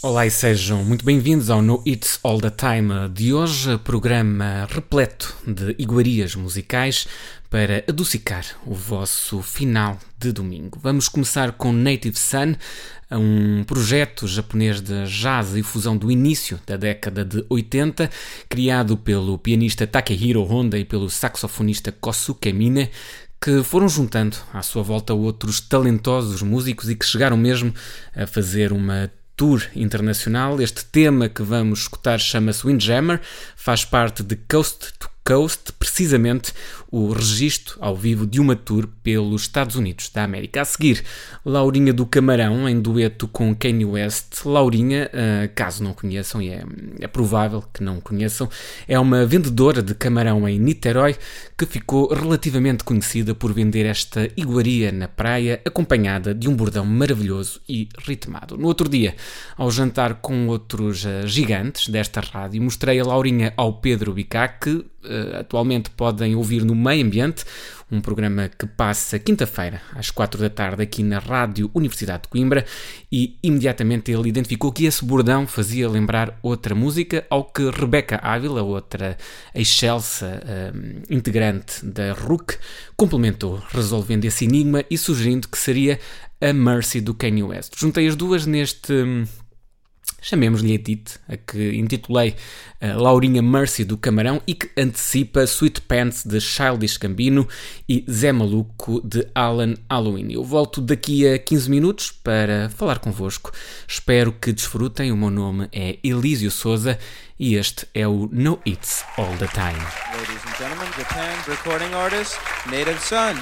Olá e sejam muito bem-vindos ao No It's All The Time de hoje, programa repleto de iguarias musicais para adocicar o vosso final de domingo. Vamos começar com Native Son, um projeto japonês de jazz e fusão do início da década de 80, criado pelo pianista Takehiro Honda e pelo saxofonista Kosuke Mine, que foram juntando à sua volta outros talentosos músicos e que chegaram mesmo a fazer uma tour internacional. Este tema que vamos escutar chama-se Windjammer, faz parte de Coast to Coast, precisamente o registro ao vivo de uma tour pelos Estados Unidos da América. A seguir, Laurinha do Camarão, em dueto com Kanye West. Laurinha, caso não conheçam, e é provável que não conheçam, é uma vendedora de camarão em Niterói que ficou relativamente conhecida por vender esta iguaria na praia, acompanhada de um bordão maravilhoso e ritmado. No outro dia, ao jantar com outros gigantes desta rádio, mostrei a Laurinha ao Pedro Bicá, que atualmente podem ouvir no Meio Ambiente, um programa que passa quinta-feira às 4 da tarde aqui na Rádio Universidade de Coimbra, e imediatamente ele identificou que esse bordão fazia lembrar outra música, ao que Rebeca Ávila, outra excelsa integrante da RUC, complementou, resolvendo esse enigma e sugerindo que seria a Mercy do Kanye West. Juntei as duas neste, chamemos-lhe edit, a que intitulei Laurinha Mercy do Camarão e que antecipa Sweet Pants de Childish Gambino e Zé Maluco de Alan Halloween. Eu volto daqui a 15 minutos para falar convosco. Espero que desfrutem. O meu nome é Elísio Souza e este é o No It's All The Time. Ladies and gentlemen, Japan recording artist Native Son.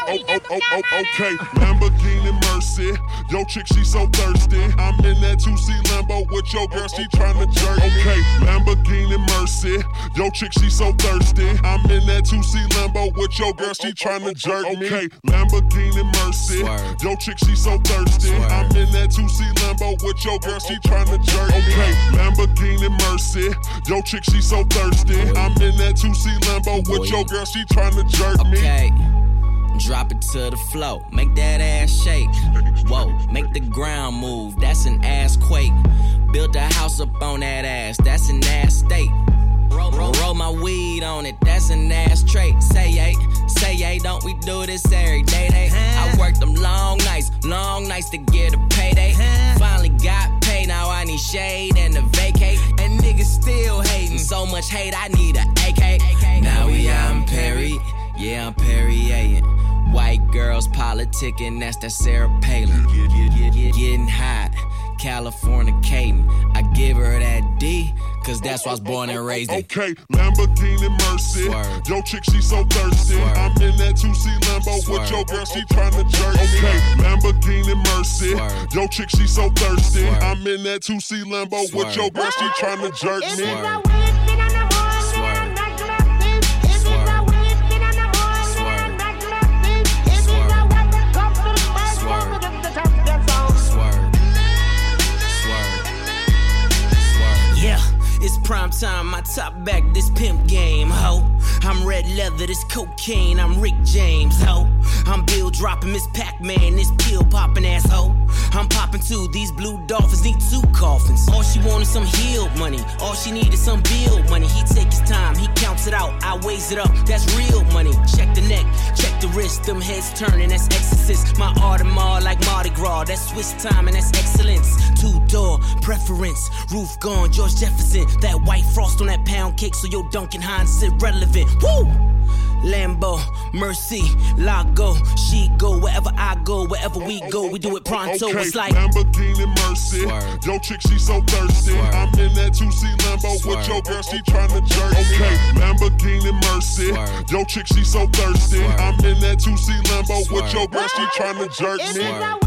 Okay, Lamborghini Mercy. Yo, chick, she so thirsty. I'm in that 2C Lambo with your girl, she tryna jerk me. Okay, Lamborghini Mercy. Yo, chick, she so thirsty. I'm in that 2C Lambo with your girl, she tryna jerk me. Okay, Lamborghini Mercy. Yo, chick, she so thirsty. I'm in that 2C Lambo with your girl, she tryna jerk me. Okay, Lamborghini Mercy. Yo, chick, she so thirsty. I'm in that 2C Lambo with your girl, she tryna jerk me. Okay. Drop it to the floor, make that ass shake. Whoa, make the ground move, that's an ass quake. Build a house up on that ass, that's an ass state. Roll my weed on it, that's an ass trait. Say yay, don't we do this every day? I worked them long nights to get a payday. Finally got paid, now I need shade and a vacate. And niggas still hating, so much hate, I need a AK. Now we out in Perry, yeah, I'm Perrier. White girls politicking, that's that Sarah Palin. Getting hot, Californicating. I give her that D, cause that's why I was born and raised in. Okay, Lamborghini Mercy. Swerve. Yo, chick, she so thirsty. Swerve. I'm in that 2C Lambo Swerve. with your girl, she tryna jerk me. Okay, Lamborghini Mercy. Swerve. Yo, chick, she so thirsty. Swerve. I'm in that 2C Lambo with Swerve. your girl, she tryna jerk me. Swerve. It's prime time, my top back, this pimp game, ho. I'm red leather, this cocaine, I'm Rick James, ho. I'm Bill dropping Miss Pac-Man, this pill popping asshole. I'm popping too, these blue dolphins need 2 coffins. All she wanted some healed money, all she needed some bill money. He take his time, he counts it out, I weighs it up, that's real money. Check the neck, check the wrist, them heads turning, that's exorcist. My Audemars like Mardi Gras, that's Swiss time and that's excellence. 2-door preference, roof gone, George Jefferson. That white frost on that pound cake, so your Duncan Hines irrelevant. Woo! Lambo, Mercy, Lago, she go wherever I go, wherever we go, we do it pronto. Okay, it's like Lamborghini Mercy. Swerve. Yo, chick, she so thirsty. Swerve. I'm in that 2C Lambo Swerve. with your girl, she tryna jerk me. Okay, Lamborghini Mercy. Swerve. Yo, chick, she so thirsty. Swerve. I'm in that 2C Lambo with Swerve. your girl, she tryna jerk me. Swerve.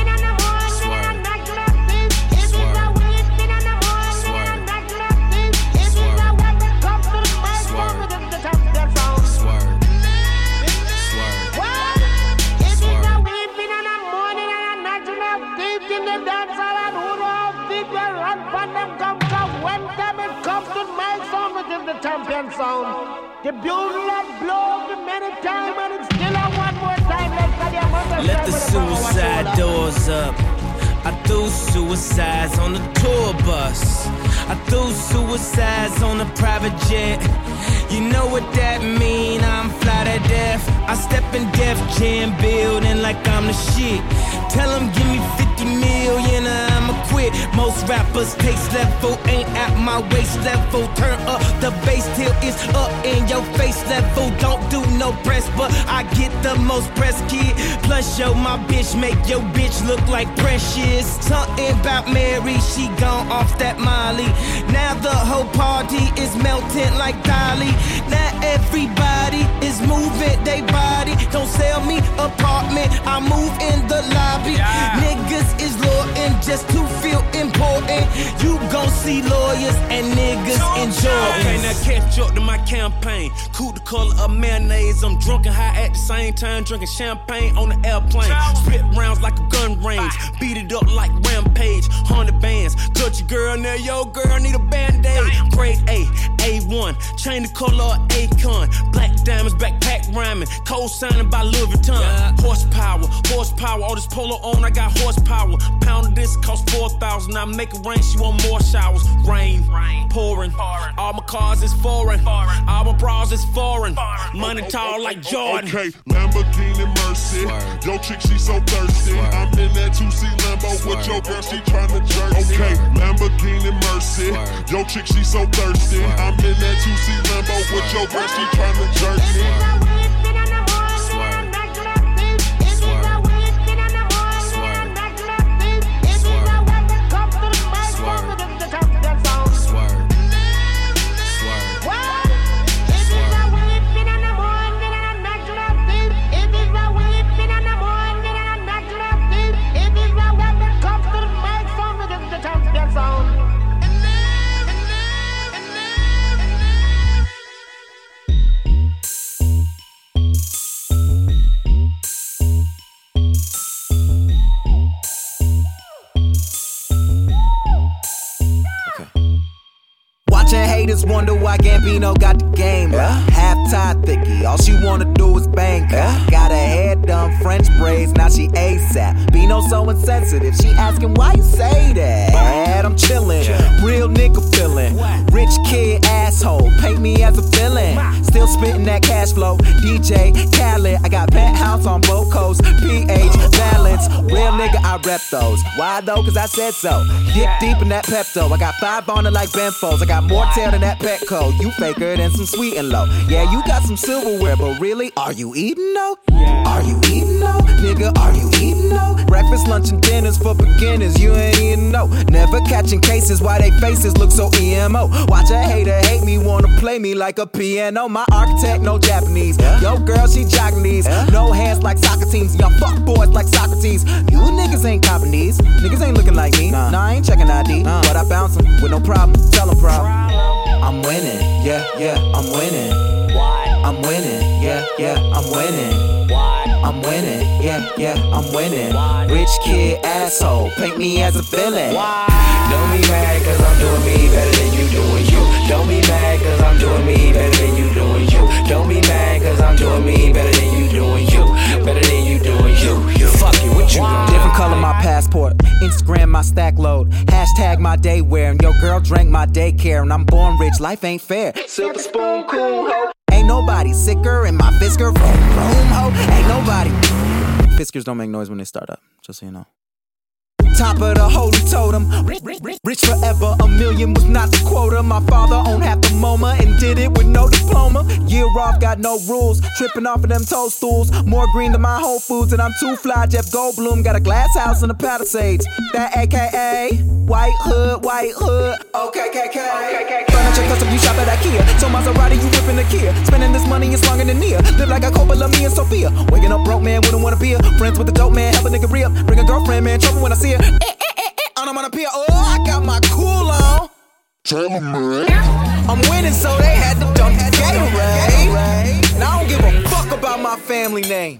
Champion sound. The bugle has blown many times and it's still a one more time. Let the suicide doors up. I threw suicides on the tour bus. I threw suicides on a private jet. You know what that mean, I'm fly to death. I step in Def Jam building like I'm the shit. Tell them give me 50 million or I'ma quit. Most rappers taste level ain't at my waist level. Turn up the bass till it's up in your face level. Don't do no press, but I get the most press, kid. Plus yo, my bitch make your bitch look like Precious. Something about Mary, she gone off that Molly. Now the whole party is melting like Dolly. Now everybody is moving they body. Don't sell me apartment, I move in the lobby. Yeah. Niggas is loyal just to feel important. You gon' see lawyers and niggas enjoy. Okay, now catch up to my campaign. Cool the color of mayonnaise. I'm drunk and high at the same time, drinking champagne on the airplane. Spit rounds like a gun range. Beat it up like Rampage. 100 bands. Cut your girl now, yo girl need a band-aid. Grade A, A1. Chain the color of Akon. Black diamonds, backpack rhyming. Cold signing by Louis Vuitton. Horsepower. All this polo on, I got horsepower. Pound of this cost 4,000. I make it rain, she want more showers. Rain, pouring. All my cars is foreign. All my bras is foreign. Money tall like Jordan. Okay, Lamborghini Mercy. Swerve. Yo, chick, she so thirsty. Swerve. I'm in that 2C Lambo with your girl, she tryna jerk me. Okay, Lamborghini Mercy. Swerve. Yo, chick, she so thirsty. Swerve. I'm in that 2C Lambo with your girl, she tryna jerk me. It is a niggas wonder why Gambino got the game. Half-tied thicky, all she wanna do is bang. Got her hair done, French braids, now she ASAP. Bino so insensitive, she asking why you say that. I'm chillin', real nigga feelin'. Rich kid asshole, paint me as a villain. Still spittin' that cash flow, DJ Khaled. I got penthouse on both coasts, PH balance. Real nigga, I rep those. Why though? Cause I said so. Dick deep in that Pepto. I got 5 on it like Benfos. I got more tail than that Petco. You faker than some sweet and low. Yeah, you got some silverware, but really, are you eating though? Are you eating though? Nigga, are you eating though? Breakfast, lunch, and dinners for beginners. You ain't eating no. Never catching cases. Why they faces look so emo? Watch a hater hate me, wanna play me like a piano. My architect, no Japanese. Yo, girl, she jogging these. No hands like soccer teams. Y'all fuck boys like Socrates. You niggas ain't copping these. Niggas ain't looking like me. Nah, I ain't checking ID. But I bounce them with no problem. Tell them problem. I'm winning. Yeah, I'm winning. I'm winning. Yeah, I'm winning. I'm winning, yeah, I'm winning. Rich kid asshole, paint me as a villain. Don't be mad cause I'm doing me better than you doing you. Don't be mad cause I'm doing me better than you doing you. Don't be mad cause I'm doing me better than you doing you. Better than you doing you. Fuck you, what you doing? Different color my passport, Instagram my stack load, hashtag my day wear. And your girl drank my daycare. And I'm born rich, life ain't fair. Silver spoon, cool ho. Ain't nobody sicker in my Fisker room ho. Ain't nobody. Fiskers don't make noise when they start up, just so you know. Top of the holy totem, rich forever, a million was not the quota. My father owned half the MoMA and did it with no diploma. Year off, got no rules, tripping off of them toadstools. More green than my Whole Foods and I'm too fly, Jeff Goldblum. Got a glass house in the Palisades, that AKA White Hood, okay, KK. Furniture custom, you shop at IKEA. So Maserati, you whipping the Kia. Spending this money is longer than Nia. Live like a Coppola, me and Sophia. Waking up broke, man, wouldn't wanna be a friends with the dope man, help a nigga re-up. Bring a girlfriend, man, trouble when I see her. I'm on a pier, oh, I got my cool on. Tell 'em, man. I'm winning, so they had to dump the Gatorade. And I don't give a fuck about my family name.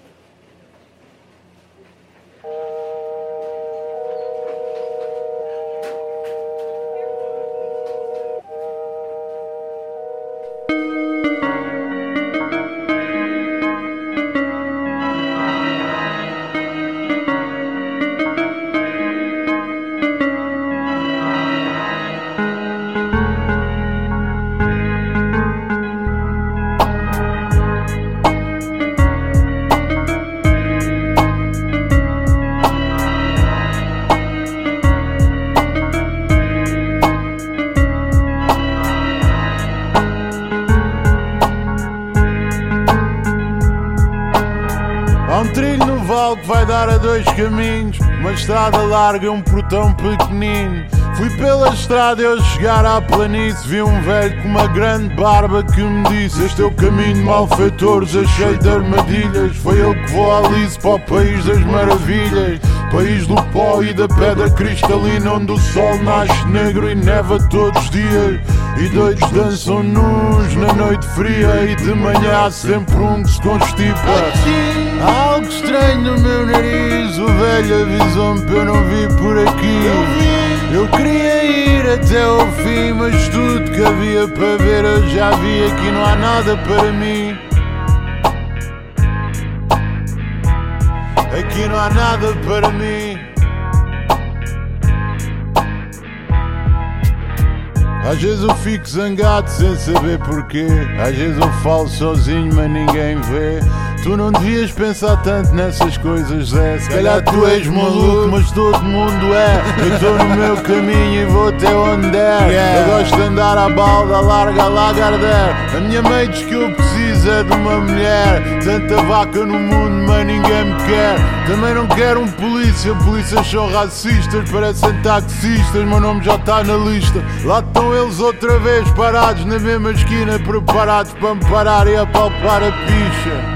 Que vai dar a 2 caminhos, uma estrada larga e um portão pequenino. Fui pela estrada e ao chegar à planície vi um velho com uma grande barba que me disse: este é o caminho de malfeitores, é cheio de armadilhas. Foi ele que voou a Alice para o país das maravilhas, país do pó e da pedra cristalina, onde o sol nasce negro e neva todos os dias. E doidos dançam nus na noite fria, e de manhã há sempre um que se constipa. Há algo estranho no meu nariz, o velho avisou-me que eu não vi por aqui. Eu queria ir até ao fim, mas tudo que havia para ver eu já vi. Aqui não há nada para mim. Aqui não há nada para mim. Às vezes eu fico zangado sem saber porquê. Às vezes eu falo sozinho mas ninguém vê. Tu não devias pensar tanto nessas coisas, Zé. Se calhar tu és maluco, mas todo mundo é. Eu estou no meu caminho e vou até onde der. Eu gosto de andar à balda, larga, Lagardère. A minha mãe diz que eu preciso é de uma mulher. Tanta vaca no mundo, mas ninguém me quer. Também não quero um polícia, polícias são racistas. Parecem taxistas, meu nome já está na lista. Lá estão eles outra vez, parados na mesma esquina, preparados para me parar e apalpar a picha.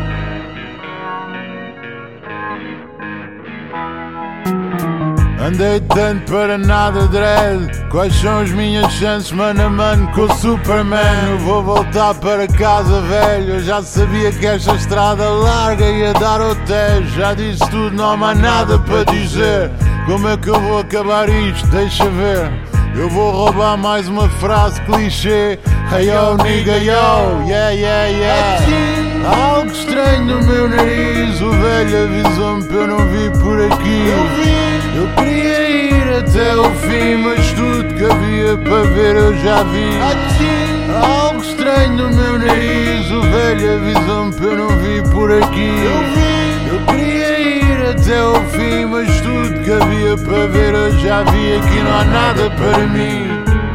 Andei tanto para nada, dread. Quais são as minhas chances, mano a mano, com o Superman? Eu vou voltar para casa, velho. Eu já sabia que esta estrada larga ia dar ao Tejo. Já disse tudo, não há mais nada para dizer. Como é que eu vou acabar isto? Deixa ver. Eu vou roubar mais uma frase clichê. Hey yo nigga yo, yeah yeah yeah. Há algo estranho no meu nariz. O velho avisou-me que eu não vi por aqui. Eu queria ir até o fim, mas tudo que havia para ver eu já vi. Há algo estranho no meu nariz. O velho avisou-me que eu não vi por aqui. Eu queria ir até o fim, mas tudo que havia para ver eu já vi. Aqui não há nada para mim.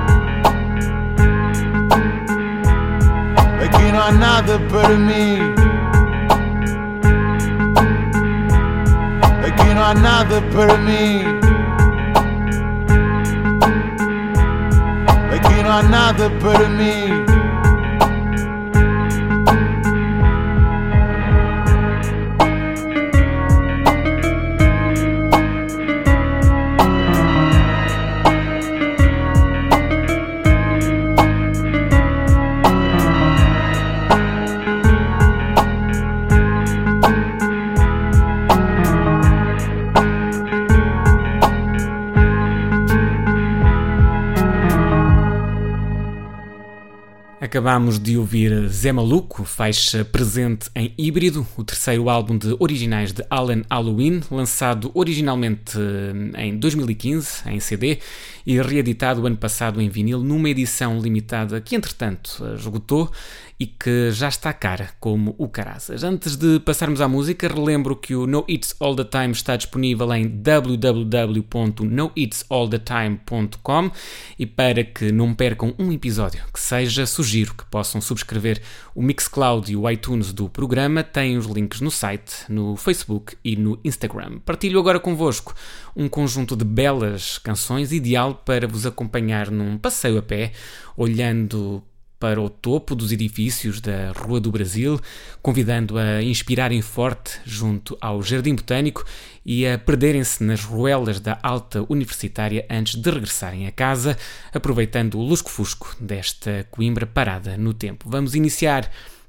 Aqui não há nada para mim. Aqui não há nada para mim. Aqui não há nada para mim. Acabámos de ouvir Zé Maluco, faixa presente em Híbrido, o terceiro álbum de originais de Alan Halloween, lançado originalmente em 2015 em CD e reeditado ano passado em vinil numa edição limitada que entretanto esgotou e que já está cara como o caraças. Antes de passarmos à música, relembro que o No It's All The Time está disponível em www.noitsallthetime.com e para que não percam um episódio que seja, sugiro que possam subscrever o Mixcloud e o iTunes do programa. Tem os links no site, no Facebook e no Instagram. Partilho agora convosco um conjunto de belas canções ideal para vos acompanhar num passeio a pé, olhando para o topo dos edifícios da Rua do Brasil, convidando a inspirarem forte junto ao Jardim Botânico e a perderem-se nas ruelas da Alta Universitária antes de regressarem a casa, aproveitando o lusco-fusco desta Coimbra parada no tempo. Vamos iniciar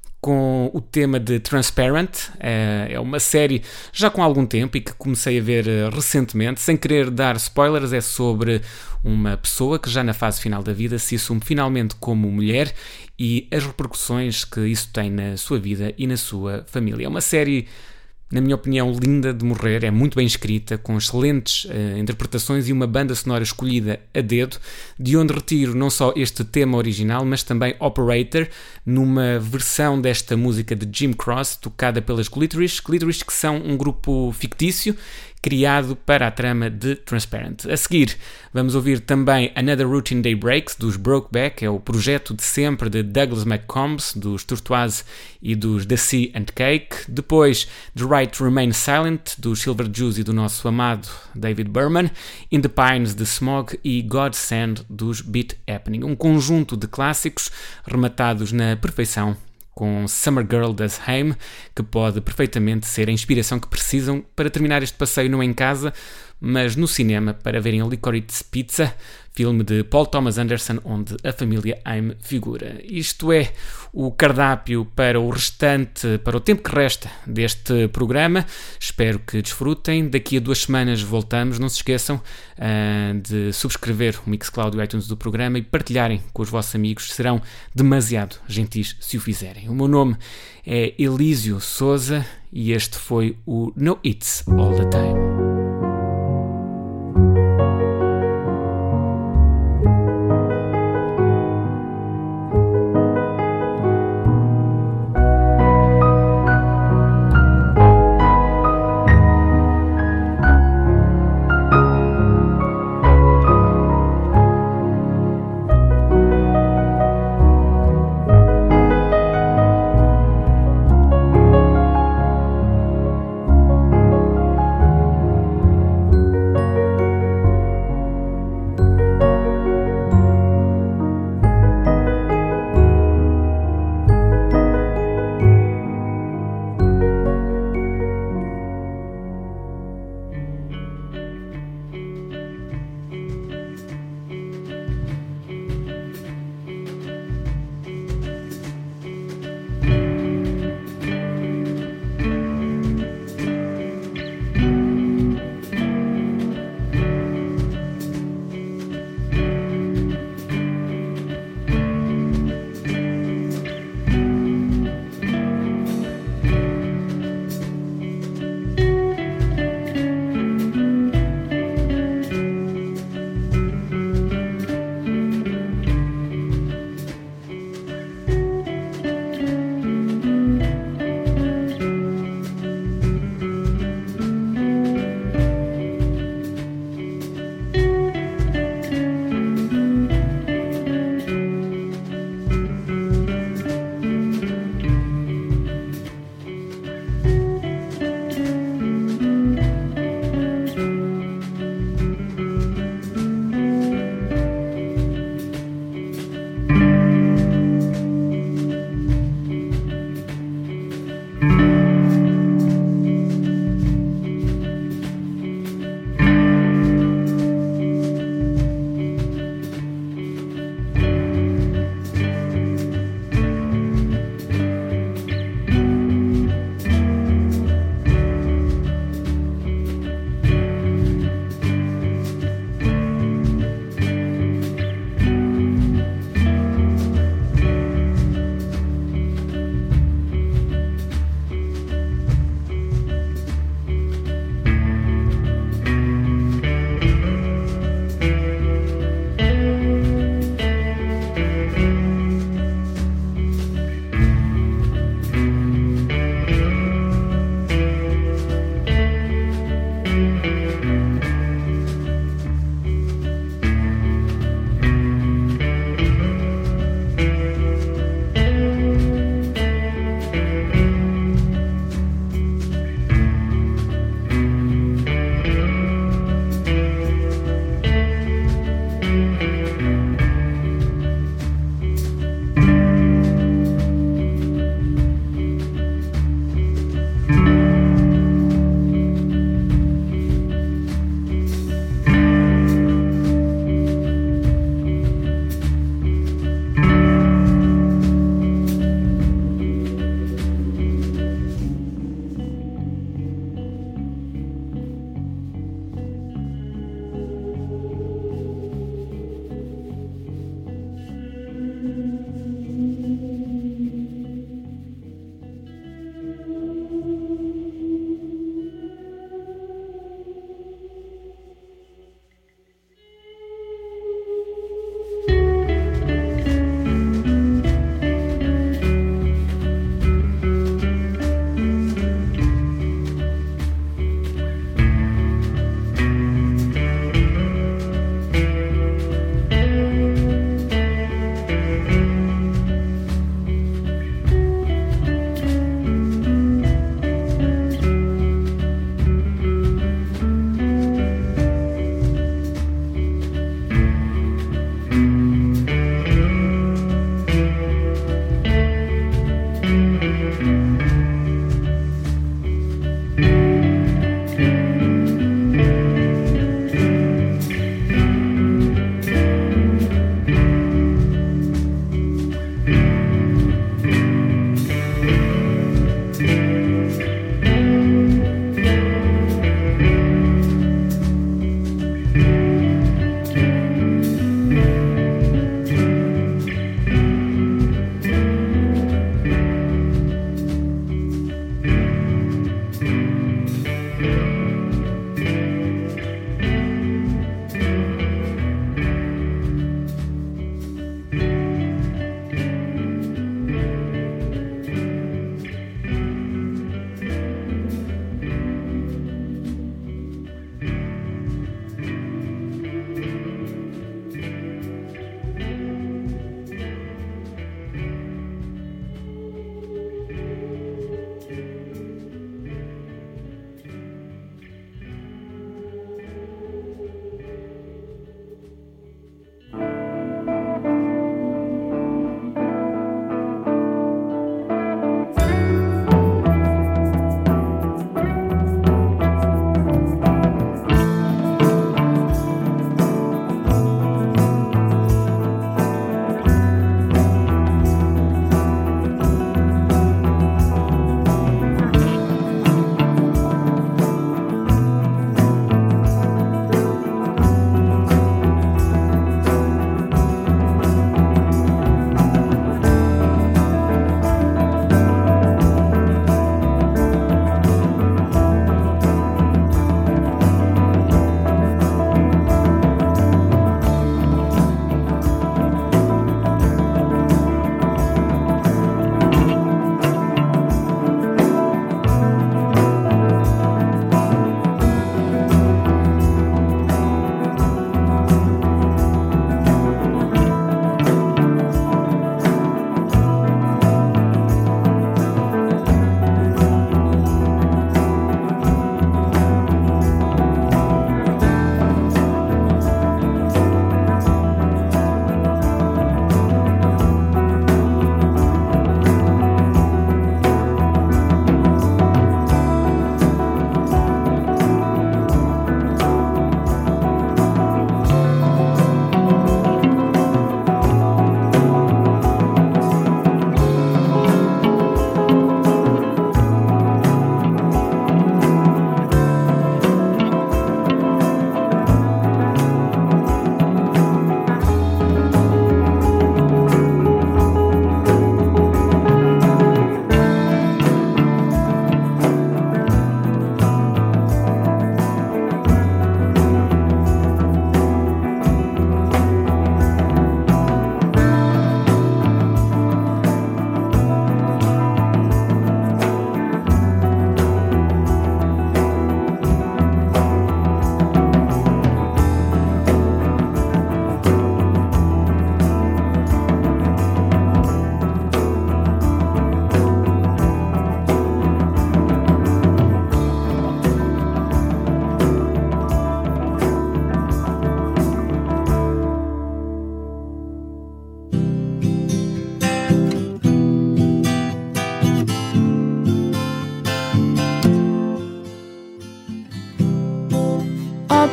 com o tema de Transparent. É uma série já com algum tempo e que comecei a ver recentemente, sem querer dar spoilers. É sobre uma pessoa que já na fase final da vida se assume finalmente como mulher e as repercussões que isso tem na sua vida e na sua família. É uma série, na minha opinião, linda de morrer, é muito bem escrita, com excelentes interpretações e uma banda sonora escolhida a dedo, de onde retiro não só este tema original, mas também Operator, numa versão desta música de Jim Cross, tocada pelas Glitterish, que são um grupo fictício, criado para a trama de Transparent. A seguir, vamos ouvir também Another Routine Day Breaks, dos Brokeback, é o projeto de sempre de Douglas McCombs, dos Tortoise e dos The Sea and Cake. Depois, The Right to Remain Silent, dos Silver Jews e do nosso amado David Berman. In the Pines, de Smog e God Send, dos Beat Happening. Um conjunto de clássicos rematados na perfeição, com Summer Girl das Haim, que pode perfeitamente ser a inspiração que precisam para terminar este passeio não em casa, mas no cinema, para verem a Licorice Pizza, filme de Paul Thomas Anderson, onde a família Haim figura. Isto é o cardápio para o restante, para o tempo que resta deste programa. Espero que desfrutem. Daqui a 2 semanas voltamos. Não se esqueçam de subscrever o Mixcloud e o iTunes do programa e partilharem com os vossos amigos. Serão demasiado gentis se o fizerem. O meu nome é Elísio Souza e este foi o No It's All The Time.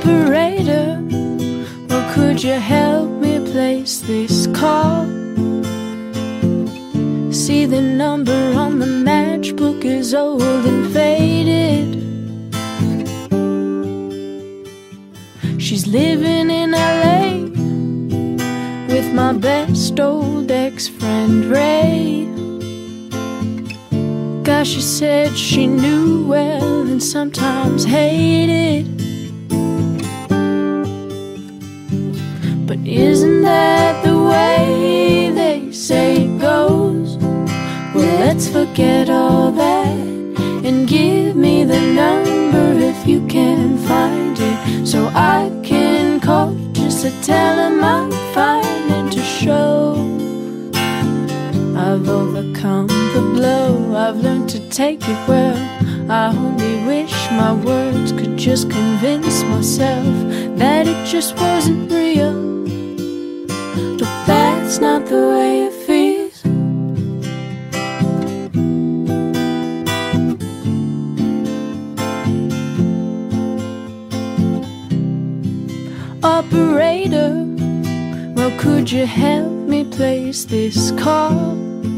Operator, well, could you help me place this call? See, the number on the matchbook is old and faded. She's living in LA with my best old ex-friend Ray. Gosh, she said she knew well and sometimes hated. But isn't that the way they say it goes? Well, let's forget all that and give me the number if you can find it, so I can call just to tell him I'm fine and to show I've overcome the blow. I've learned to take it well. I only wish my words could just convince myself that it just wasn't real. But that's not the way it feels. Operator, well, could you help me place this call?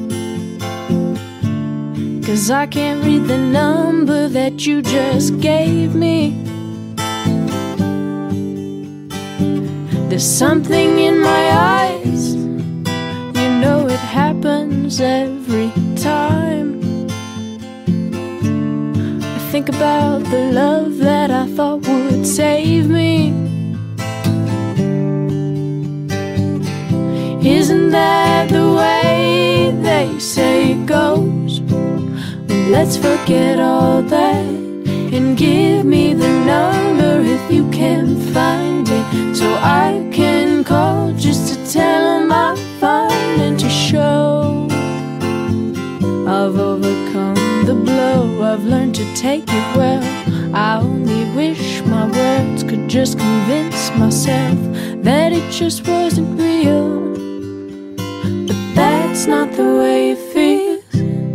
'Cause I can't read the number that you just gave me. There's something in my eyes, you know it happens every time. I think about the love that I thought would save me. Isn't that the way they say it goes? Well, let's forget all that and give me the number if you can find it, so I can call just to tell them I'm fine and to show I've overcome the blow. I've learned to take it well. I only wish my words could just convince myself that it just wasn't real. But that's not the way it feels.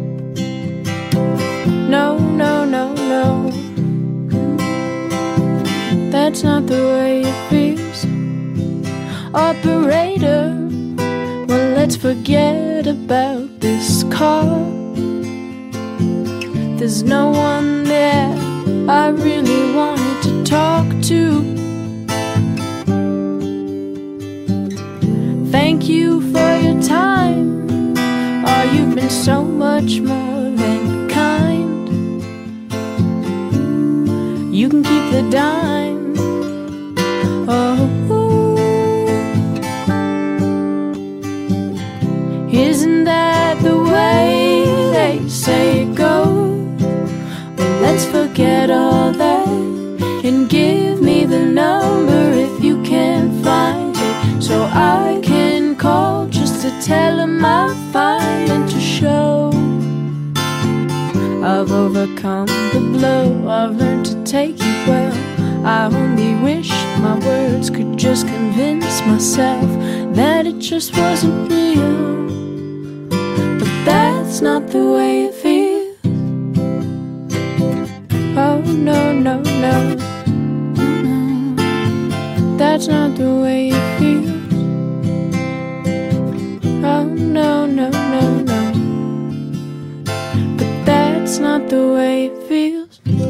No, no, no, no. That's not the way it feels. Operator, well, let's forget about this call. There's no one there I really wanted to talk to. Thank you for your time. Oh, you've been so much more than kind. You can keep the dime. Oh, isn't that the way they say it goes? Well, let's forget all that and give me the number if you can find it, so I can call just to tell him I'm fine and to show I've overcome the blow. I've learned to take it well. I only wish my words could just convince myself that it just wasn't real. But that's not the way it feels. Oh, no, no, no. That's not the way it feels. Oh, no, no, no, no. But that's not the way it feels.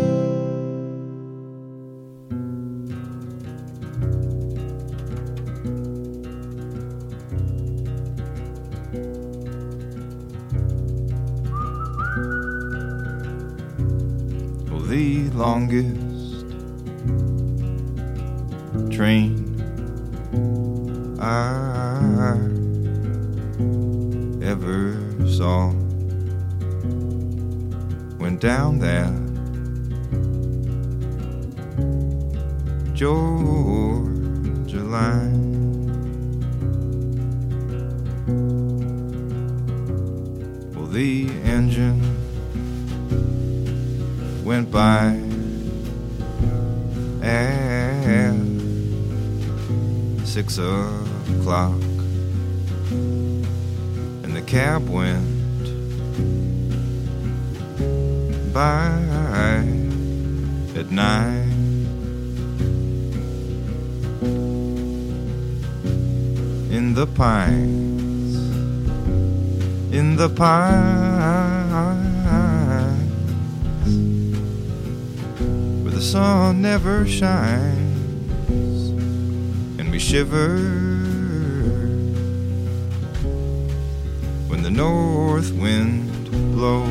The longest train I ever saw went down that Georgia line. Well, the engine went by at 6 o'clock, and the cab went by at 9. in the pines, in the pines, where the sun never shines, and we shiver when the north wind blows.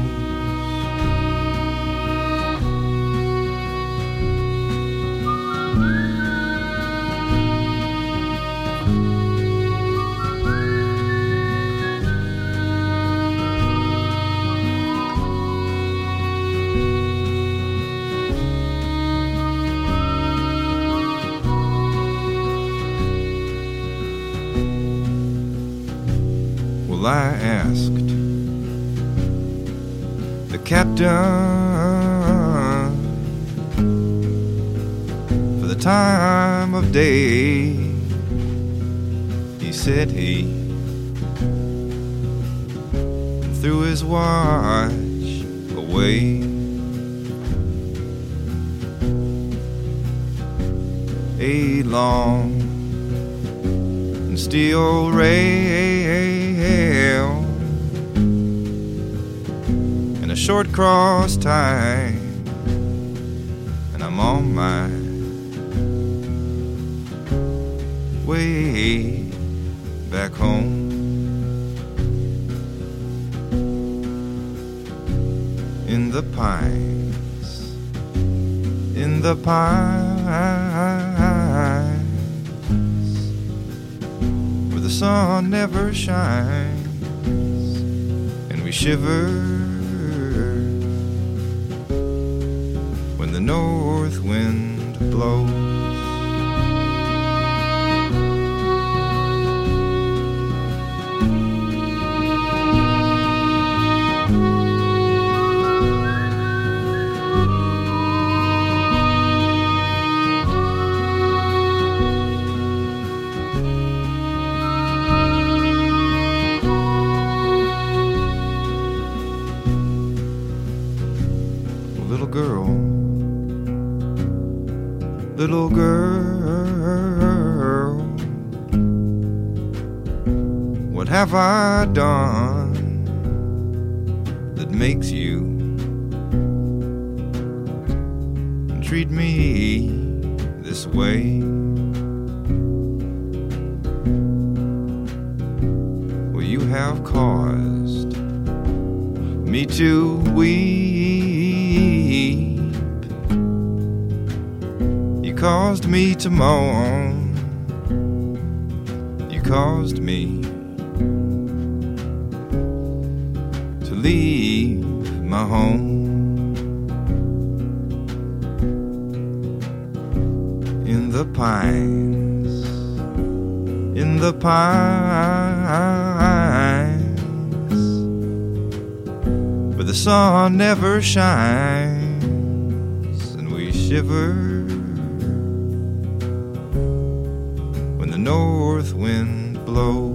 I asked the captain for the time of day. He said he threw his watch away. A long and steel rail and a short cross tie, and I'm on my way back home. In the pines, in the pines, where the sun never shines, and we shiver when the north wind blows. Little girl, what have I done that makes you treat me this way? Well, you have caused me to weep. You caused me to moan. You caused me to leave my home. In the pines, in the pines, where the sun never shines, and we shiver north wind blows.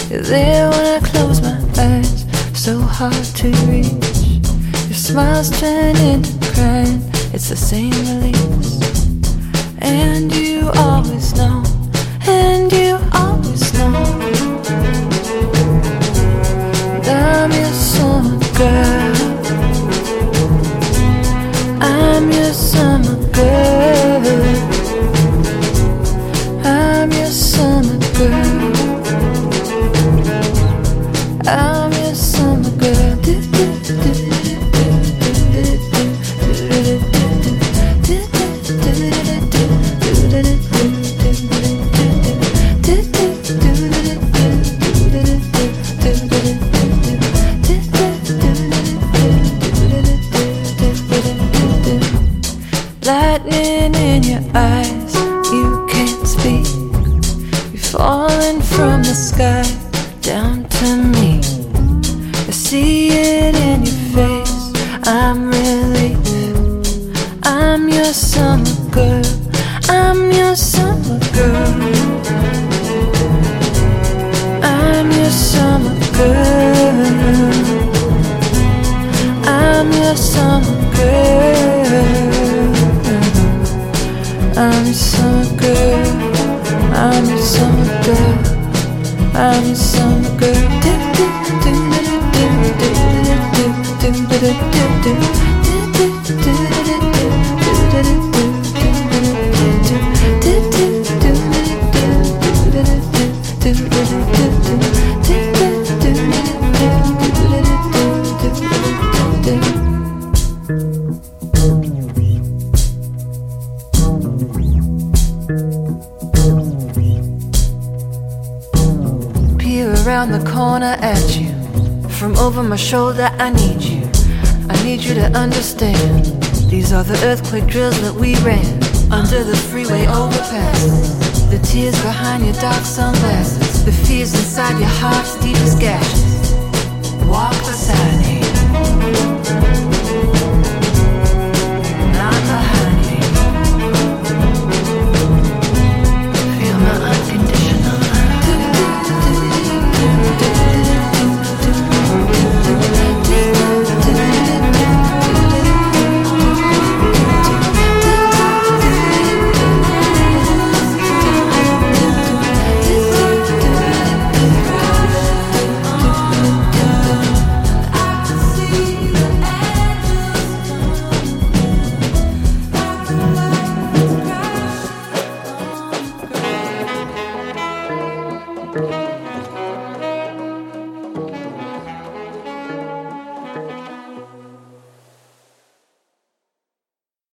You're there when I close my eyes, so hard to reach. Your smiles turn into crying, it's the same release. And you always know, and you always know that I'm your summer girl. I'm your summer girl. I'm your summer girl. I'm your summer girl. Lightning in your eyes, you can't speak. You're falling from the sky down to me. I see it in your face, I'm relief. I'm your summer girl, I'm your summer girl. I'm your summer girl. I'm your summer girl. I'm your summer girl. I'm your summer girl. I'm your summer girl. Around the corner at you, from over my shoulder I need you. I need you to understand. These are the earthquake drills that we ran under the freeway overpasses. The tears behind your dark sunglasses, the fears inside your heart's deepest gashes. Walk beside me.